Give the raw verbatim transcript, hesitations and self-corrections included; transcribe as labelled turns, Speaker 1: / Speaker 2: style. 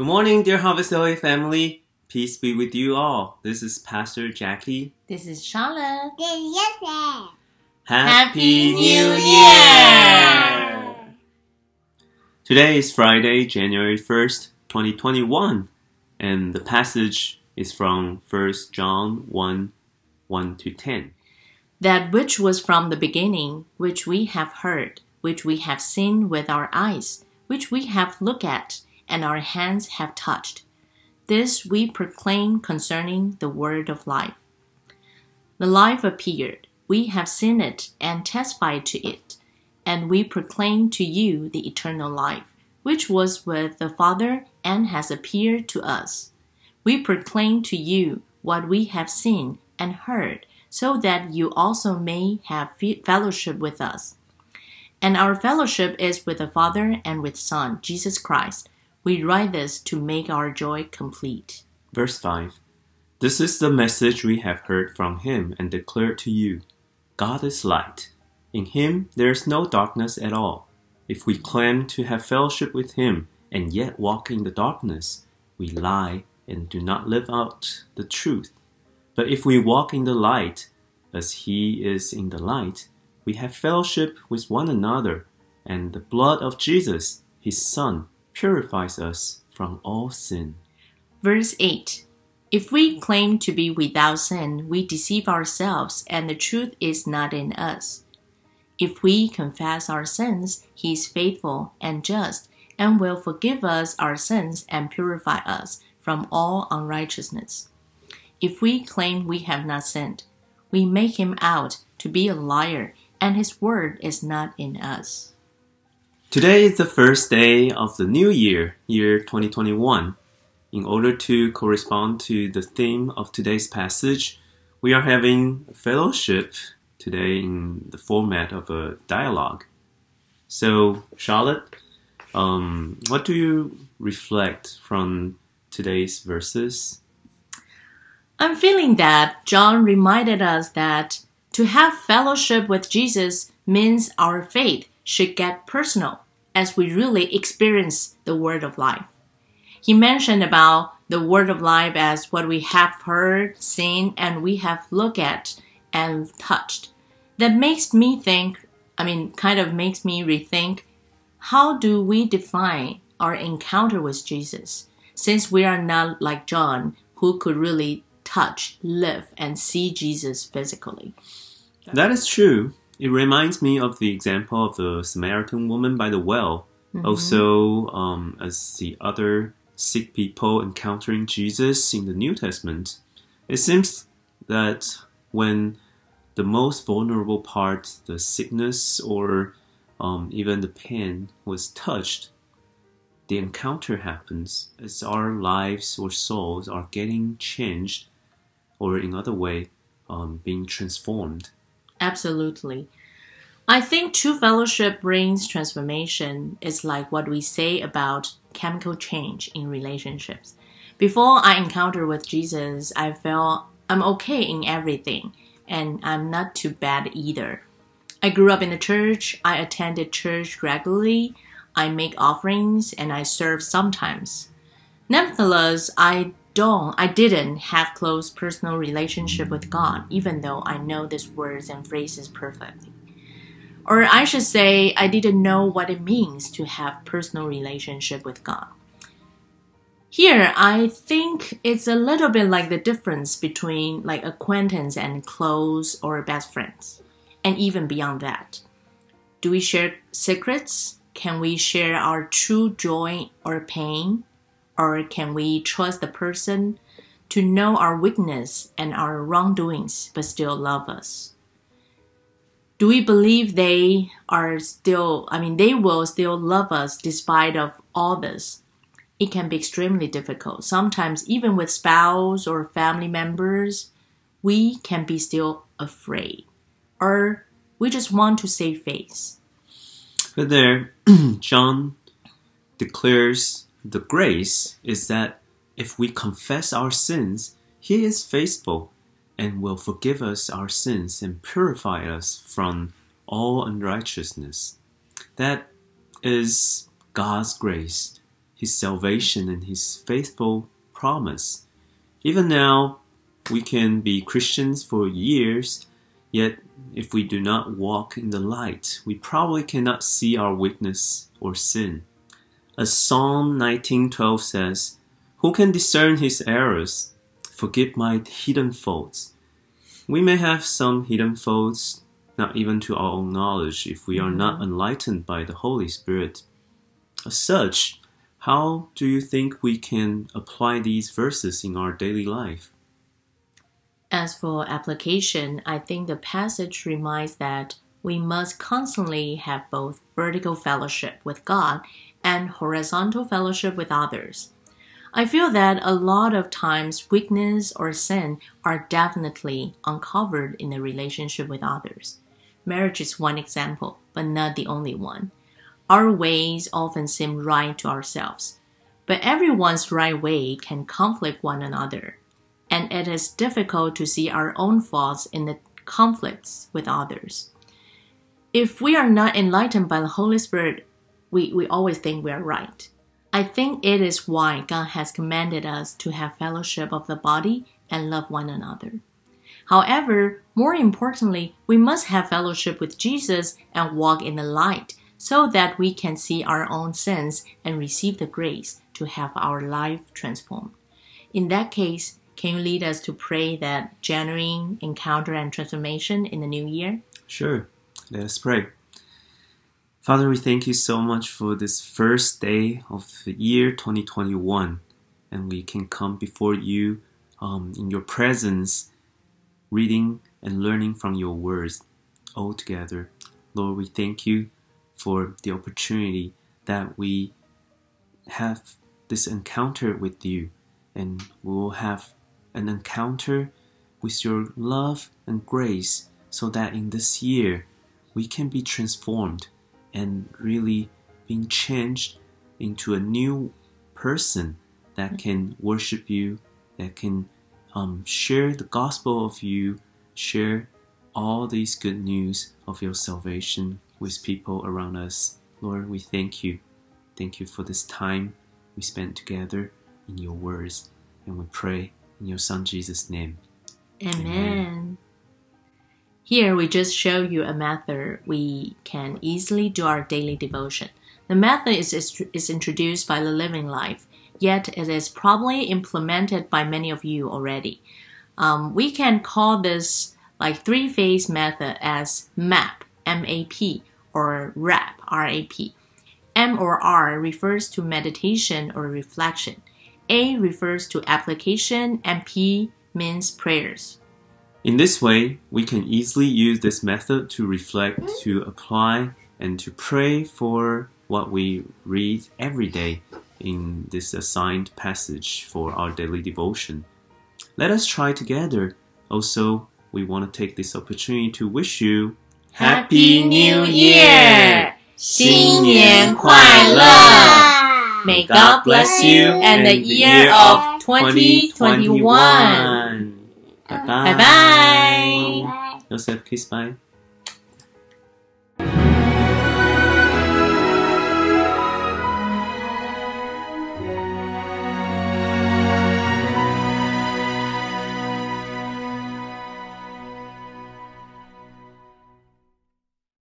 Speaker 1: morning, dear Harvest L A family. Peace be with you all. This is Pastor Jackie.
Speaker 2: This is Charlotte.
Speaker 3: This is Joseph.
Speaker 1: Happy
Speaker 2: New
Speaker 1: Year! Today is Friday, January first, twenty twenty-one, and the passage is from First John one, one to ten.
Speaker 2: That which was from the beginning, which we have heard, which we have seen with our eyes, which we have looked at, and our hands have touched. This we proclaim concerning the word of life. The life appeared. We have seen it and testified to it, and we proclaim to you the eternal life, which was with the Father and has appeared to us. We proclaim to you what we have seen and heard, so that you also may have fellowship with us. And our fellowship is with the Father and with Son, Jesus Christ. We write this to make our joy complete.
Speaker 1: Verse five. This is the message we have heard from him and declared to you. God is light. In him there is no darkness at all. If we claim to have fellowship with him and yet walk in the darkness, we lie and do not live out the truth. But if we walk in the light, as he is in the light, we have fellowship with one another, and the blood of Jesus, his Son, purifies us from all sin.
Speaker 2: Verse eight. If we claim to be without sin, we deceive ourselves, and the truth is not in us. If we confess our sins, he is faithful and just, and will forgive us our sins and purify us from all unrighteousness. If we claim we have not sinned, we make him out to be a liar, and his word is not in us.
Speaker 1: Today is the first day of the new year, year twenty twenty-one. In order to correspond to the theme of today's passage, we are having fellowship today in the format of a dialogue. So, Charlotte, um, what do you reflect from today's verses?
Speaker 2: I'm feeling that John reminded us that to have fellowship with Jesus means our faith should get personal as we really experience the word of life. He mentioned about the word of life as what we have heard, seen, and we have looked at and touched. That makes me think, I mean, kind of makes me rethink, how do we define our encounter with Jesus? Since we are not like John, who could really touch, live, and see Jesus physically.
Speaker 1: That is true. It reminds me of the example of the Samaritan woman by the well. Mm-hmm. Also, um, as the other sick people encountering Jesus in the New Testament. It seems that when the most vulnerable part, the sickness or um, even the pain, was touched, the encounter happens as our lives or souls are getting changed, or in other way, um, being transformed.
Speaker 2: Absolutely. I think true fellowship brings transformation. It's like what we say about chemical change in relationships. Before I encounter with Jesus, I felt I'm okay in everything, and I'm not too bad either. I grew up in the church. I attended church regularly. I make offerings, and I serve sometimes. Nevertheless, I don't, I didn't have close personal relationship with God, even though I know these words and phrases perfectly. Or I should say, I didn't know what it means to have personal relationship with God. Here, I think it's a little bit like the difference between like acquaintance and close or best friends, and even beyond that. Do we share secrets? Can we share our true joy or pain? Or can we trust the person to know our weakness and our wrongdoings but still love us? Do we believe they are still, I mean, they will still love us despite of all this? It can be extremely difficult. Sometimes even with spouse or family members, we can be still afraid. Or we just want to save face.
Speaker 1: But there, John declares the grace is that if we confess our sins, he is faithful and will forgive us our sins and purify us from all unrighteousness. That is God's grace. His salvation and His faithful promise. Even now, we can be Christians for years, yet if we do not walk in the light, we probably cannot see our weakness or sin. As Psalm nineteen twelve says, "Who can discern his errors? Forgive my hidden faults." We may have some hidden faults, not even to our own knowledge, if we are not enlightened by the Holy Spirit. As such, how do you think we can apply these verses in our daily life?
Speaker 2: As for application, I think the passage reminds that we must constantly have both vertical fellowship with God and horizontal fellowship with others. I feel that a lot of times weakness or sin are definitely uncovered in the relationship with others. Marriage is one example, but not the only one. Our ways often seem right to ourselves, but everyone's right way can conflict one another, and it is difficult to see our own faults in the conflicts with others. If we are not enlightened by the Holy Spirit, we, we always think we are right. I think it is why God has commanded us to have fellowship of the body and love one another. However, more importantly, we must have fellowship with Jesus and walk in the light so that we can see our own sins and receive the grace to have our life transformed. In that case, can you lead us to pray that genuine encounter and transformation in the new year?
Speaker 1: Sure. Let us pray. Father, we thank you so much for this first day of the year twenty twenty-one, and we can come before you um, in your presence, reading and learning from your words all together. Lord, we thank you for the opportunity that we have this encounter with you, and we will have an encounter with your love and grace so that in this year we can be transformed and really being changed into a new person that can worship you, that can um, share the gospel of you, share all these good news of your salvation with people around us. Lord, we thank you. Thank you for this time we spent together in your words, and we pray in your Son Jesus' name.
Speaker 2: Amen.
Speaker 1: Amen.
Speaker 2: Here we just show you a method we can easily do our daily devotion. The method is, is, is introduced by the Living Life, yet it is probably implemented by many of you already. Um, we can call this like three-phase method as MAP, M A P, or RAP, R A P. M or R refers to meditation or reflection. A refers to application, and P means prayers.
Speaker 1: In this way, we can easily use this method to reflect, to apply, and to pray for what we read every day in this assigned passage for our daily devotion. Let us try together. Also, we want to take this opportunity to wish you
Speaker 2: Happy New Year! 新年快乐! May God bless you and the year of twenty twenty-one.
Speaker 1: Bye bye.
Speaker 2: Bye bye.
Speaker 1: Joseph, kiss bye.